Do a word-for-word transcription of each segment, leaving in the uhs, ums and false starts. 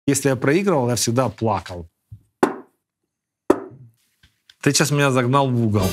Если я проигрывал, я всегда плакал. Ты сейчас меня загнал в угол.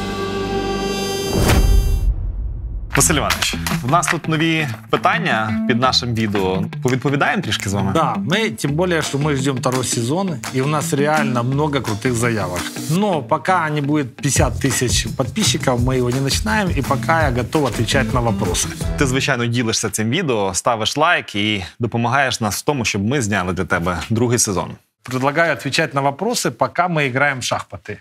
Василь Іванович, в нас тут нові питання під нашим відео. Повідповідаємо трішки з вами? Да, мы, тем более, что мы ждем второй сезон, и у нас реально много крутых заявок. Но пока не будет пятьдесят тысяч подписчиков, мы его не начинаем, и пока я готов отвечать на вопросы. Ти, звичайно, ділишся цим відео, ставиш лайк і допомагаєш нас в тому, щоб ми зняли для тебе другий сезон. Предлагаю отвечать на вопросы, пока мы играем в шахматы.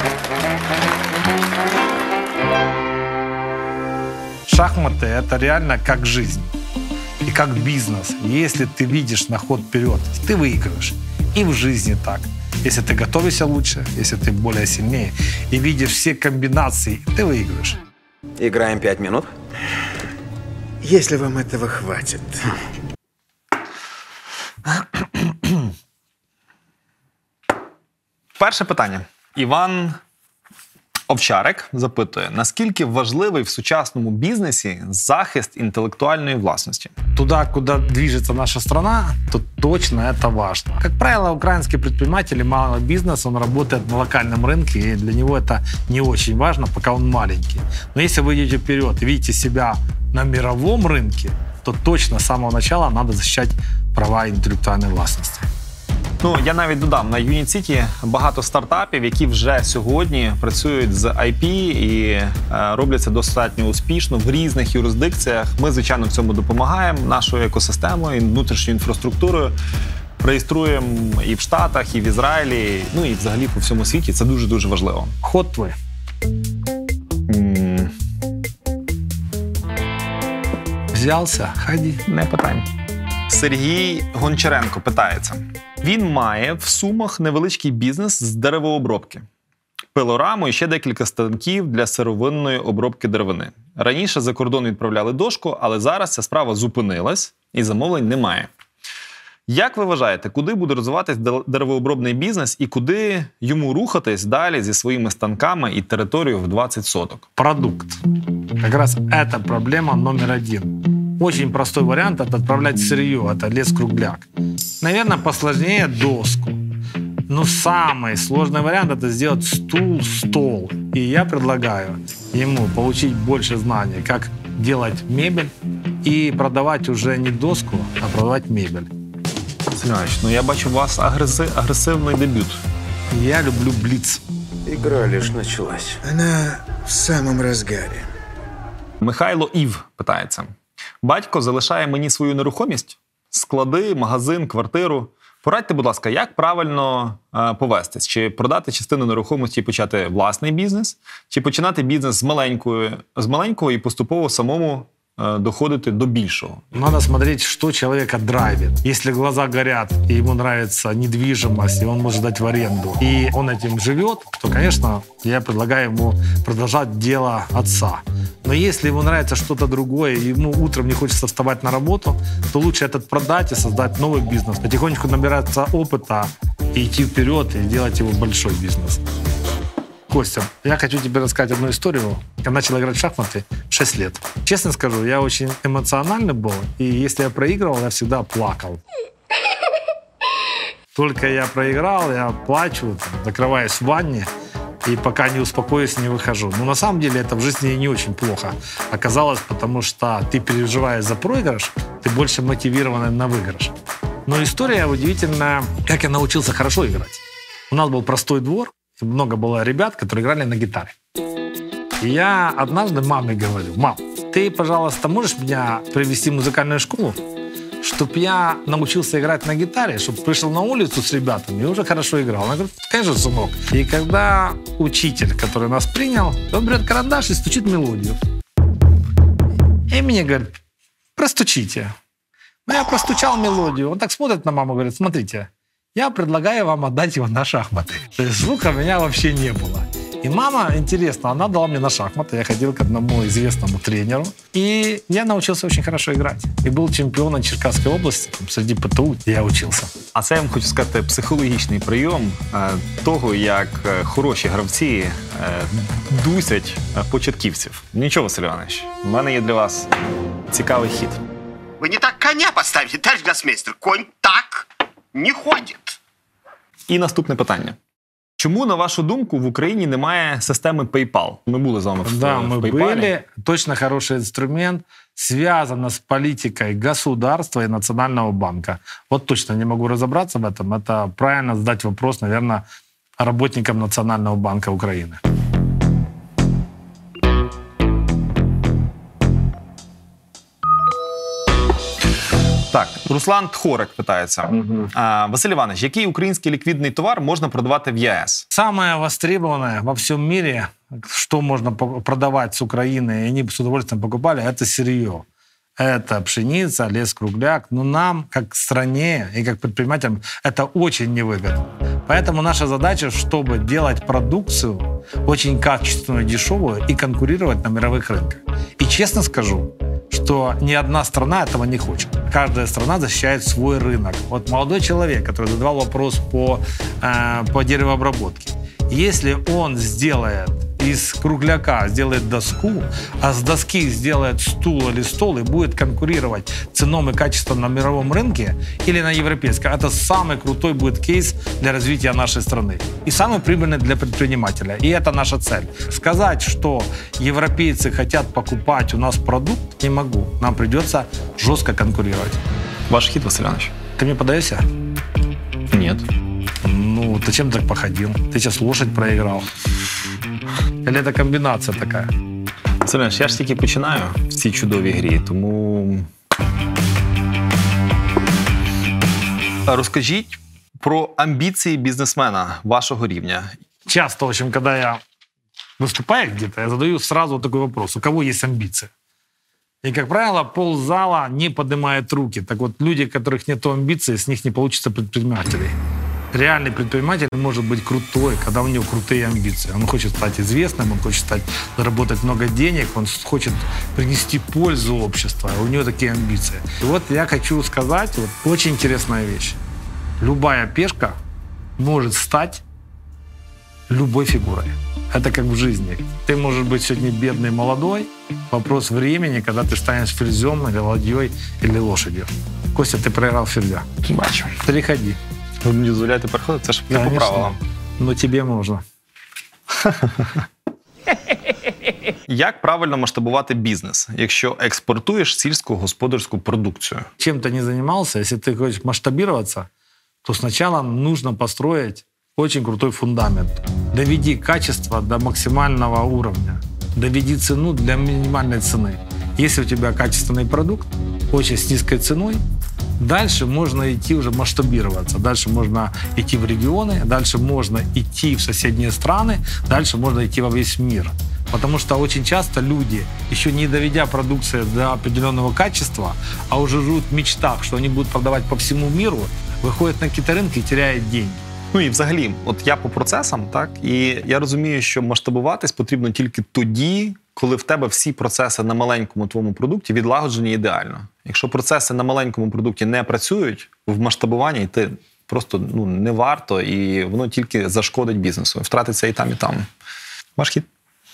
Шахматы — это реально как жизнь и как бизнес. Если ты видишь на ход вперед, ты выигрываешь. И в жизни так. Если ты готовишься лучше, если ты более сильнее и видишь все комбинации, ты выигрываешь. Играем пять минут? Если вам этого хватит. Перше питання. Іван Овчарик запитує, наскільки важливий в сучасному бізнесі захист інтелектуальної власності? Туда, куда движется наша страна, то точно это важно. Как правило, украинский предприниматель, малый бизнес, он работает на локальном рынке, и для него это не очень важно, пока он маленький. Но если вы идете вперед и видите себя на мировом рынке, то точно с самого начала надо защищать права интеллектуальной власности. Ну, я навіть додам, на Unit City багато стартапів, які вже сьогодні працюють з ай пі і е, роблять це достатньо успішно в різних юрисдикціях. Ми, звичайно, в цьому допомагаємо нашою екосистемою, внутрішньою інфраструктурою. Реєструємо і в Штатах, і в Ізраїлі, ну і взагалі по всьому світі. Це дуже-дуже важливо. Ход твой. М-м- Взялся, ходи. Не питання. Сергій Гончаренко питається. Він має в Сумах невеличкий бізнес з деревообробки. Пилораму і ще декілька станків для сировинної обробки деревини. Раніше за кордон відправляли дошку, але зараз ця справа зупинилась і замовлень немає. Як ви вважаєте, куди буде розвиватись деревообробний бізнес і куди йому рухатись далі зі своїми станками і територією в двадцять соток? Продукт. Как раз это проблема номер один. Очень простой вариант – это отправлять сырье, это лес-кругляк. Наверное, посложнее доску. Но самый сложный вариант – это сделать стул, стол. И я предлагаю ему получить больше знаний, как делать мебель и продавать уже не доску, а продавать мебель. Василь Іванович, ну я бачу у вас агреси... агресивний дебют. Я люблю блиц. Игра лишь началась. Она в самом разгаре. Михайло Ів питається. Батько залишає мені свою нерухомість, склади, магазин, квартиру. Порадьте, будь ласка, як правильно е, повестись? Чи продати частину нерухомості і почати власний бізнес? Чи починати бізнес з маленької, з маленького і поступово самому е, доходити до більшого? Надо смотреть, что человека драйвит. Если глаза горят, и ему нравится недвижимость, и он может дать в аренду, и он этим живет, то, конечно, я предлагаю ему продолжать дело отца. Но если ему нравится что-то другое, и ему утром не хочется вставать на работу, то лучше этот продать и создать новый бизнес, потихонечку набираться опыта и идти вперед, и делать его большой бизнес. Костя, я хочу тебе рассказать одну историю. Я начал играть в шахматы в шесть лет. Честно скажу, я очень эмоциональный был, и если я проигрывал, я всегда плакал. Только я проиграл, я плачу, там, закрываюсь в ванне, и пока не успокоюсь, не выхожу. Но на самом деле это в жизни не очень плохо оказалось, потому что ты переживаешь за проигрыш, ты больше мотивирован на выигрыш. Но история удивительная, как я научился хорошо играть. У нас был простой двор, и много было ребят, которые играли на гитаре. И я однажды маме говорю: мам, ты, пожалуйста, можешь меня привести в музыкальную школу, чтобы я научился играть на гитаре, чтобы пришел на улицу с ребятами и уже хорошо играл. Она говорит: конечно, сынок. И когда учитель, который нас принял, он берет карандаш и стучит мелодию. И мне говорит: простучите. Ну, я простучал мелодию. Он так смотрит на маму и говорит: смотрите, я предлагаю вам отдать его на шахматы. То есть звука у меня вообще не было. И мама, интересно, она дала мне на шахматы. Я ходил к одному известному тренеру. И я научился очень хорошо играть. И был чемпионом Черкасской области. Там, среди ПТУ я учился. А це, я вам хочу сказати, психологічний прийом е, того, як е, хороші гравці е, дусять е, початківців. Нічого, Василь Іванович, в мене є для вас цікавий хід. Вы не так коня поставите, товарищ гроссмейстер. Конь так. не ходит. І наступне питання. Чому, на вашу думку, в Україні немає системи PayPal? Ми були з вами в, Да, в мы PayPal. были. Точно хороший инструмент. Связано с политикой государства и Национального банка. Вот точно не могу разобраться в этом. Это правильно задать вопрос, наверное, работникам Национального банка Украины. Так, Руслан Тхорик питається. А, Василь Іванович, який український ліквідний товар можна продавати в ЄС? Самое востребованное во всем мире, что можно по- продавать с Украины, и они с удовольствием покупали, это сырье. Это пшеница, лес-кругляк. Но нам, как стране и как предпринимателям, это очень невыгодно. Поэтому наша задача, чтобы делать продукцию очень качественную, дешевую и конкурировать на мировых рынках. И честно скажу, что ни одна страна этого не хочет. Каждая страна защищает свой рынок. Вот молодой человек, который задавал вопрос по, э, по деревообработке. Если он сделает из кругляка сделает доску, а с доски сделает стул или стол и будет конкурировать ценом и качеством на мировом рынке или на европейском, это самый крутой будет кейс для развития нашей страны. И самый прибыльный для предпринимателя. И это наша цель. Сказать, что европейцы хотят покупать у нас продукт, не могу. Нам придется жестко конкурировать. Ваш хід, Василь Іванович? Ты мне подаешься? Ні. Ну, ты чем так походил? Ты сейчас лошадь проиграл. Или это комбинация такая? Василь Іванович, я ж тільки починаю в цій чудовій грі, тому... Розкажіть про амбіції бізнесмена вашого рівня. Часто, в общем, когда я выступаю где-то, я задаю сразу такой вопрос: у кого есть амбиции? И, как правило, ползала не поднимает руки. Так вот, люди, у которых нет амбиций, с них не получится предпринимателей. Реальный предприниматель может быть крутой, когда у него крутые амбиции. Он хочет стать известным, он хочет стать, заработать много денег, он хочет принести пользу обществу, а у него такие амбиции. И вот я хочу сказать вот, очень интересная вещь. Любая пешка может стать любой фигурой. Это как в жизни. Ты можешь быть сегодня бедный, молодой. Вопрос времени, когда ты станешь ферзем или ладьей, или лошадью. Костя, ты проиграл ферзя. Бачу. Переходи. Ви мені дозволяєте переходити? Це ж не по Конечно. правилам. Но тебе можно. Як правильно масштабувати бізнес, якщо експортуєш сільськогосподарську продукцію? Чем ты не занимался, если ты хочешь масштабироваться, то сначала нужно построить очень крутой фундамент. Доведи качество до максимального уровня. Доведи цену для минимальной цены. Если у тебя качественный продукт, очень с низкой ценой, дальше можно идти уже масштабироваться. Дальше можно идти в регионы, дальше можно идти в соседние страны, дальше можно идти во весь мир. Потому что очень часто люди, еще не доведя продукцию до определенного качества, а уже живут в мечтах, что они будут продавать по всему миру, выходят на какие-то рынки и теряют деньги. Ну і взагалі, от я по процесам, так, і я розумію, що масштабуватись потрібно тільки тоді, коли в тебе всі процеси на маленькому твоєму продукті відлагоджені ідеально. Якщо процеси на маленькому продукті не працюють, в масштабуванні йти просто ну, не варто, і воно тільки зашкодить бізнесу. Втратиться і там, і там. Ваш хід.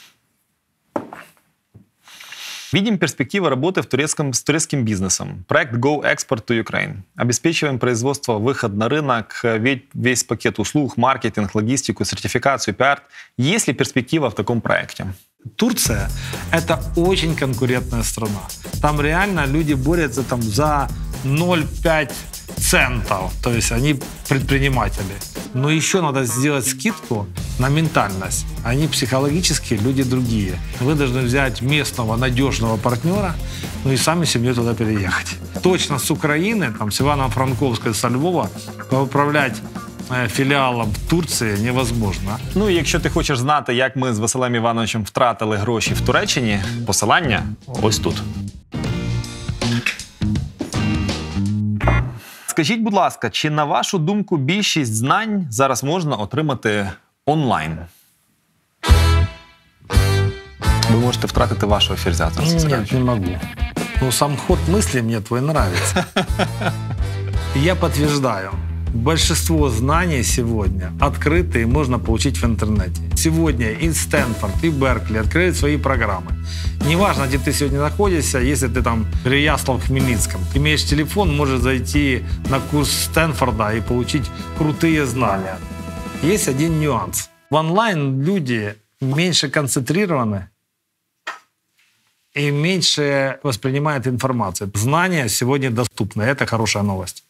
Видим перспективы работы в турецком, с турецким бизнесом. Проект Go Export to Ukraine. Обеспечиваем производство, выход на рынок, весь пакет услуг, маркетинг, логистику, сертификацию, пиар. Есть ли перспектива в таком проекте? Турция – это очень конкурентная страна. Там реально люди борются там, за ноль целых пять десятых центов. То есть они предприниматели. Но еще надо сделать скидку на ментальность. Они психологически люди другие. Вы должны взять местного надежного партнера, ну и сами семьей туда переехать. Точно с Украины, там, с Ивано-Франковска, со Львова, управлять філіалом в Турції невозможно. Ну і якщо ти хочеш знати, як ми з Василем Івановичем втратили гроші в Туреччині, посилання ось тут. Скажіть, будь ласка, чи на вашу думку більшість знань зараз можна отримати онлайн? Ви можете втратити вашого ферзя. Нет, не могу. Ну, сам ход мысли мне твой нравится. Я подтверждаю. Большинство знаний сегодня открыты и можно получить в интернете. Сегодня и Стэнфорд, и Беркли открыли свои программы. Неважно, где ты сегодня находишься, если ты там в Переяслав-Хмельницком, ты имеешь телефон, можешь зайти на курс Стэнфорда и получить крутые знания. Есть один нюанс. В онлайн люди меньше концентрированы и меньше воспринимают информацию. Знания сегодня доступны. Это хорошая новость.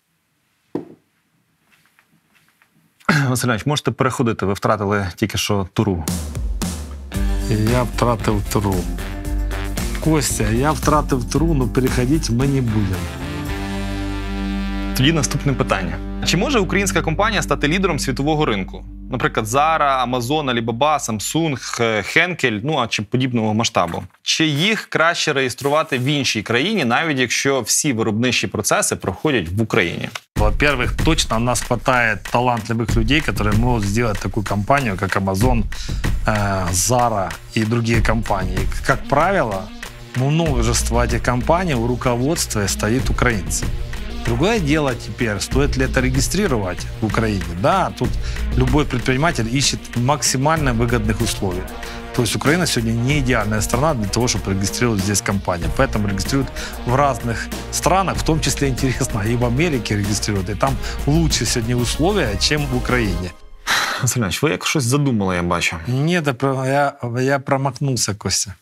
Василь Іванович, можете переходити, ви втратили тільки що туру. Я втратив туру. Костя, я втратив туру, но переходити ми не будемо. Тоді наступне питання. Чи може українська компанія стати лідером світового ринку? Наприклад, Zara, Amazon, Alibaba, Samsung, Henkel, ну а чи подібного масштабу? Чи їх краще реєструвати в іншій країні, навіть якщо всі виробничі процеси проходять в Україні? Во-первых, точно у нас хватает талантливых людей, которые могут сделать такую компанию, как Amazon, Zara и другие компании. Как правило, множество этих компаний у руководства стоит украинцы. Другое дело теперь, стоит ли это регистрировать в Украине. Да, тут любой предприниматель ищет максимально выгодных условий. То есть Украина сегодня не идеальная страна для того, чтобы регистрировать здесь компанию. Поэтому регистрируют в разных странах, в том числе, интересно, и в Америке регистрируют. И там лучше сегодня условия, чем в Украине. Василь Іванович, ви як щось задумали, я бачу. Нет, я, я промахнулся, Костя.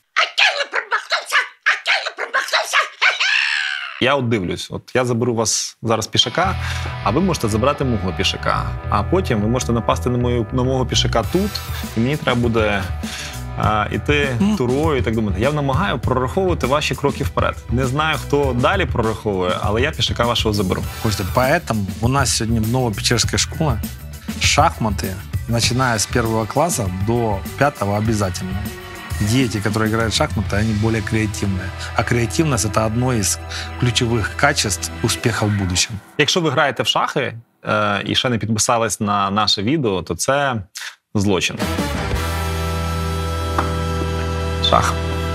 Я от дивлюсь, от я заберу вас зараз пішака, а ви можете забрати мого пішака. А потім ви можете напасти на, мою, на мого пішака тут, і мені треба буде а, іти турою і так думати. Я намагаю прораховувати ваші кроки вперед. Не знаю, хто далі прораховує, але я пішака вашого заберу. Костя, поэтому у нас сегодня в Новопечерской школе шахматы, начиная с первого класса до пятого, обязательно. Дети, которые играют в шахматы, они более креативные. А креативность – это одно из ключевых качеств успеха в будущем. Якщо ви граєте в шахи е, і ще не підписались на наше відео, то це злочин. Шах.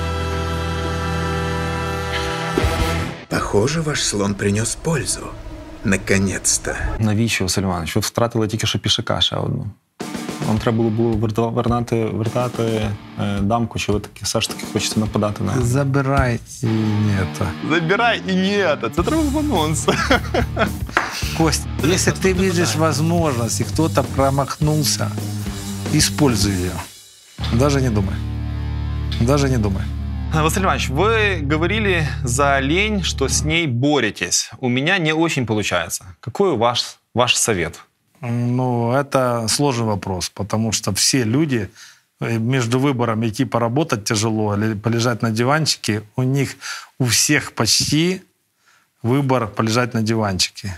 Похоже, ваш слон принес пользу. Наконец-то. Навіщо, Василь Іванович? Ви втратили тільки що пішака ще одну. Вам треба було було вертати, вертати е, дамку, чи ви таки все ж таки хочете нападати на... Забирай и нет. Забирай і ні, це треба в анонс. Кость, если ты видишь возможность, и кто-то промахнулся, используй ее. Даже не думай. Даже не думай. Василь Иванович, вы говорили за лень, что с ней боретесь. У меня не очень получается. Какой ваш, ваш совет? Ну, это сложный вопрос, потому что все люди между выбором идти поработать тяжело или полежать на диванчике, у них у всех почти выбор полежать на диванчике.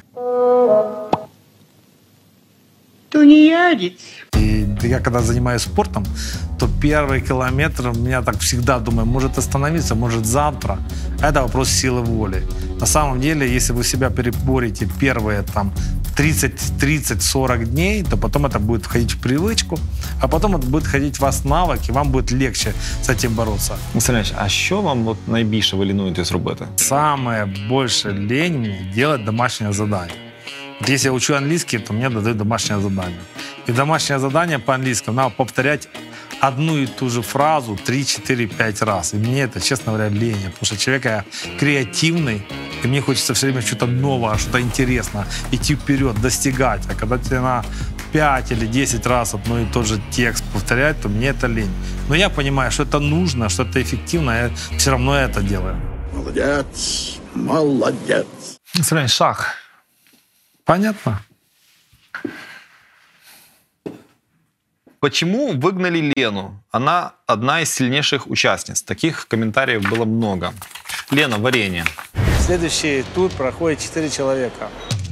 Тунеядец. И я когда занимаюсь спортом, то первый километр у меня так всегда думаю, может остановиться, может завтра. Это вопрос силы воли. На самом деле, если вы себя переборете первые там тридцать сорок дней, то потом это будет входить в привычку, а потом это будет входить в вас навык, и вам будет легче с этим бороться. Василь Іванович, а що вам от найбільше ви лінуєтесь робити? Самое больше лень мне делать домашнее задание. Вот если я учу английский, то мне дают домашнее задание. И домашнее задание по-английскому надо повторять одну и ту же фразу три, четыре, пять раз. И мне это, честно говоря, лень. Потому что человек я креативный, и мне хочется все время что-то новое, что-то интересное, идти вперед, достигать. А когда тебе на пять или десять раз одно и тот же текст повторять, то мне это лень. Но я понимаю, что это нужно, что это эффективно, я все равно это делаю. Молодец, молодец. Василь Іванович, шах. Понятно? Почему выгнали Лену? Она одна из сильнейших участниц. Таких комментариев было много. Лена, варенье. Следующий тур проходит четыре человека.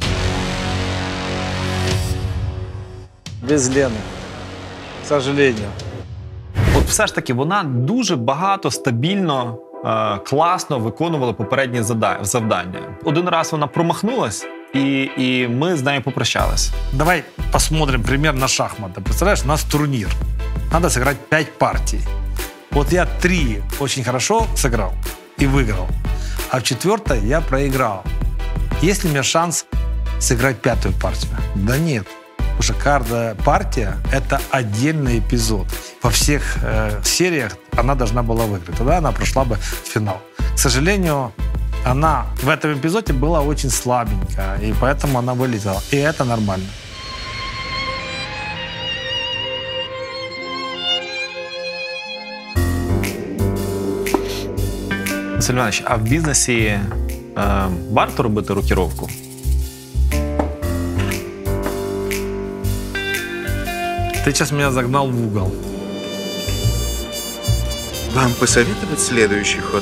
Без Лены, к сожалению. От все ж таки вона дуже багато, стабільно, е, класно виконувала попередні зада- завдання. Один раз вона промахнулась, і, і ми з нею попрощались. Давай посмотрим пример на шахматы. Представляешь, у нас турнир. Надо сыграть пять партий. Вот я три очень хорошо сыграл и выиграл. А в четвертой я проиграл. Есть ли у меня шанс сыграть пятую партию. Да нет. Потому что каждая партия – это отдельный эпизод. Во всех э, сериях она должна была выиграть. Тогда она прошла бы в финал. К сожалению, она в этом эпизоде была очень слабенькая, и поэтому она вылетела. И это нормально. Василь Іванович, а в бізнесі е, варто робити рокіровку? Ты сейчас меня загнал в угол. Вам посоветовать следующий ход?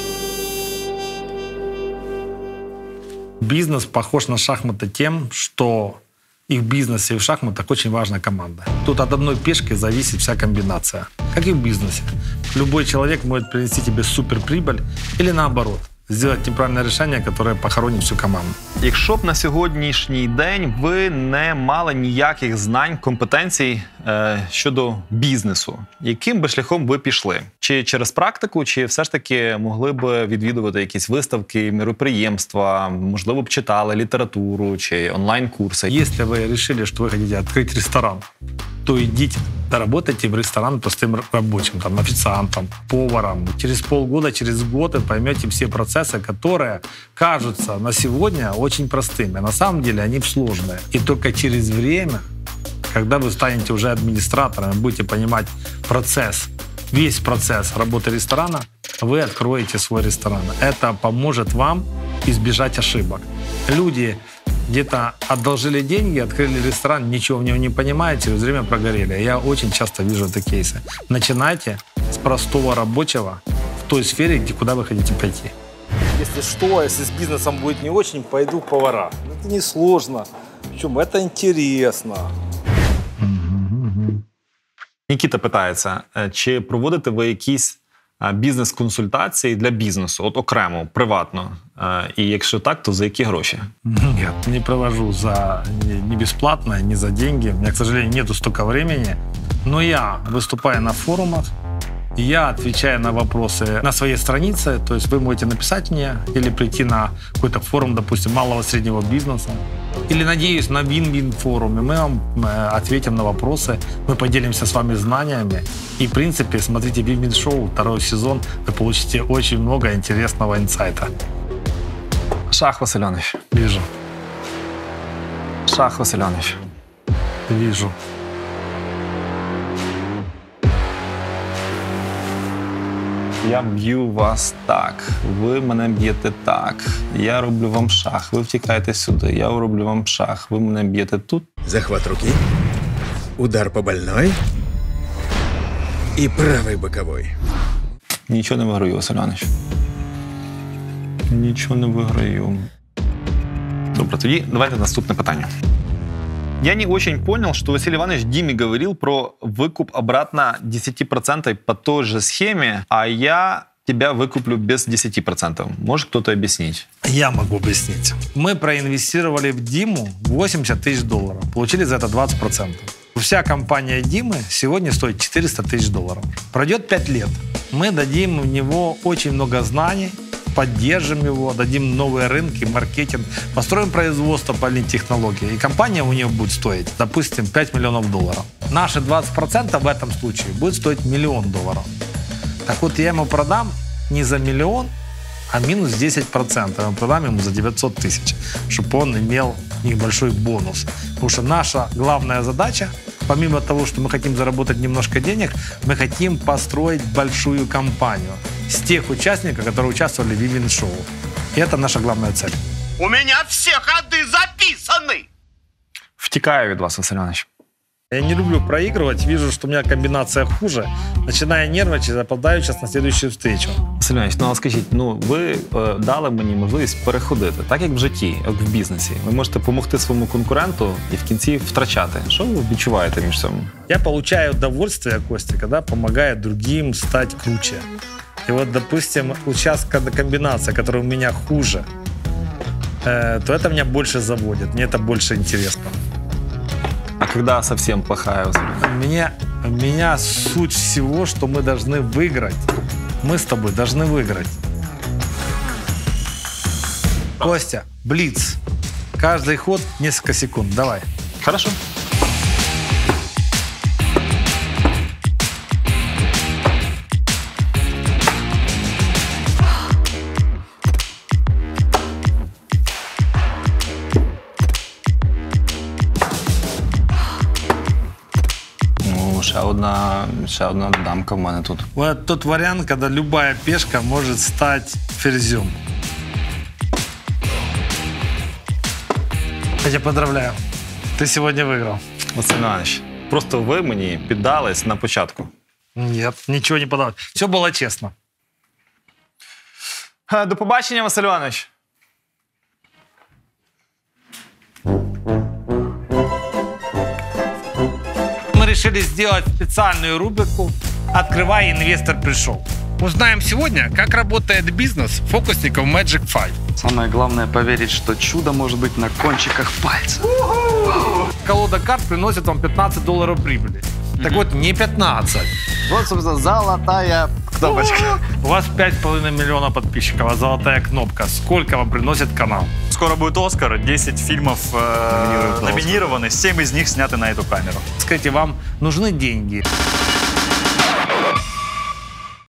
Бизнес похож на шахматы тем, что и в бизнесе, и в шахматах очень важна команда. Тут от одной пешки зависит вся комбинация. Как и в бизнесе. Любой человек может принести тебе суперприбыль или наоборот, сделать неправильное решение, которое похоронит всю команду. Якщо б на сьогоднішній день ви не мали ніяких знань, компетенцій е, щодо бізнесу, яким би шляхом ви пішли? Чи через практику, чи все ж таки могли б відвідувати якісь виставки, мероприємства, можливо б читали літературу чи онлайн-курси? Если вы решили, что вы хотите открыть ресторан, то идите, доработайте в ресторан простым рабочим, там, официантом, поваром. Через полгода, через год вы поймете все процессы, которые кажутся на сегодня очень простыми. А на самом деле они сложные. И только через время, когда вы станете уже администратором, будете понимать процесс, весь процесс работы ресторана, вы откроете свой ресторан. Это поможет вам избежать ошибок. Люди где-то одолжили деньги, открыли ресторан, ничего в нем не понимают, через время прогорели. Я очень часто вижу это кейсы. Начинайте с простого рабочего в той сфере, где, куда вы хотите пойти. Если что, если с бизнесом будет не очень, пойду в повара. Это не сложно. Причем это интересно. Нікіта питається, чи проводите ви якісь бізнес-консультації для бізнесу, от окремо, приватно? І якщо так, то за які гроші? Нет, не провожу за не бесплатно, не за деньги. У меня, к сожалению, нету столько времени. Но я выступаю на форумах, я отвечаю на вопросы на своей странице. То есть вы можете написать мне или прийти на какой-то форум, допустим, малого-среднего бизнеса. Или, надеюсь, на Win-Win форуме мы вам ответим на вопросы, мы поделимся с вами знаниями. И, в принципе, смотрите Win-Win шоу, второй сезон, вы получите очень много интересного инсайта. Шах, Василь Іванович. Вижу, Шах, Василь Іванович. вижу. Я б'ю вас так, ви мене б'єте так, я роблю вам шах, ви втікаєте сюди, я роблю вам шах, ви мене б'єте тут. Захват руки, удар по больной и правый боковой. Нічого не виграю, Василь Іванович. Нічого не виграю. Добре, тоді давайте наступне питання. Я не очень понял, что Василий Иванович Диме говорил про выкуп обратно десять процентов по той же схеме, а я тебя выкуплю без десяти процентов. Может кто-то объяснить? Я могу объяснить. Мы проинвестировали в Диму восемьдесят тысяч долларов. Получили за это двадцать процентов. Вся компания Димы сегодня стоит четыреста тысяч долларов. Пройдет пять лет. Мы дадим в него очень много знаний, поддержим его, дадим новые рынки, маркетинг, построим производство по технологии. И компания у нее будет стоить, допустим, пять миллионов долларов. Наши двадцать процентов в этом случае будет стоить миллион долларов. Так вот, я ему продам не за миллион, а минус десять процентов. Я продам ему за девятьсот тысяч, чтобы он имел небольшой бонус. Потому что наша главная задача, помимо того, что мы хотим заработать немножко денег, мы хотим построить большую компанию с тех участников, которые участвовали в Win-Win шоу. И это наша главная цель. У меня все ходы записаны! Втікаю від вас, Василь Іванович. Я не люблю проигрывать, вижу, что у меня комбинация хуже, начинаю нервничать, опоздаю сейчас на следующую встречу. Василь Іванович, ну а скажіть, ну ви е, дали мені можливість переходити, так як в житті, як в бізнесі. Ви можете допомогти своєму конкуренту і в кінці втрачати. Що ви відчуваєте між цим? Я получаю удовольствие, Костя, когда помогаю другим стать круче. И вот, допустим, участка комбинация, которая у меня хуже, э, то это меня больше заводит, мне это больше интересно. А когда совсем плохая? Меня, меня суть всего, что мы должны выиграть. Мы с тобой должны выиграть. Костя, блиц. Каждый ход несколько секунд. Давай. Хорошо. Ну, ще одна, ще одна дамка в мене тут. Вот тот вариант, когда любая пешка может стать ферзем. Я тебя поздравляю. Ты сегодня выиграл. Василь Іванович, просто ви мені піддались на початку. Нет, ничего не подал. Все было честно. Е, До побачення, Василь Іванович. Мы решили сделать специальную рубрику «Открывай, инвестор пришел». Узнаем сегодня, как работает бизнес фокусников Magic пять. Самое главное поверить, что чудо может быть на кончиках пальцев. Колода карт приносит вам пятнадцать долларов прибыли. Так вот, не пятнадцать. Вот, собственно, золотая кнопочка. У вас пять с половиной миллиона подписчиков, а золотая кнопка. Сколько вам приносит канал? Скоро будет «Оскар», десять фильмов э, номинированы, семь из них сняты на эту камеру. Скажите, вам нужны деньги?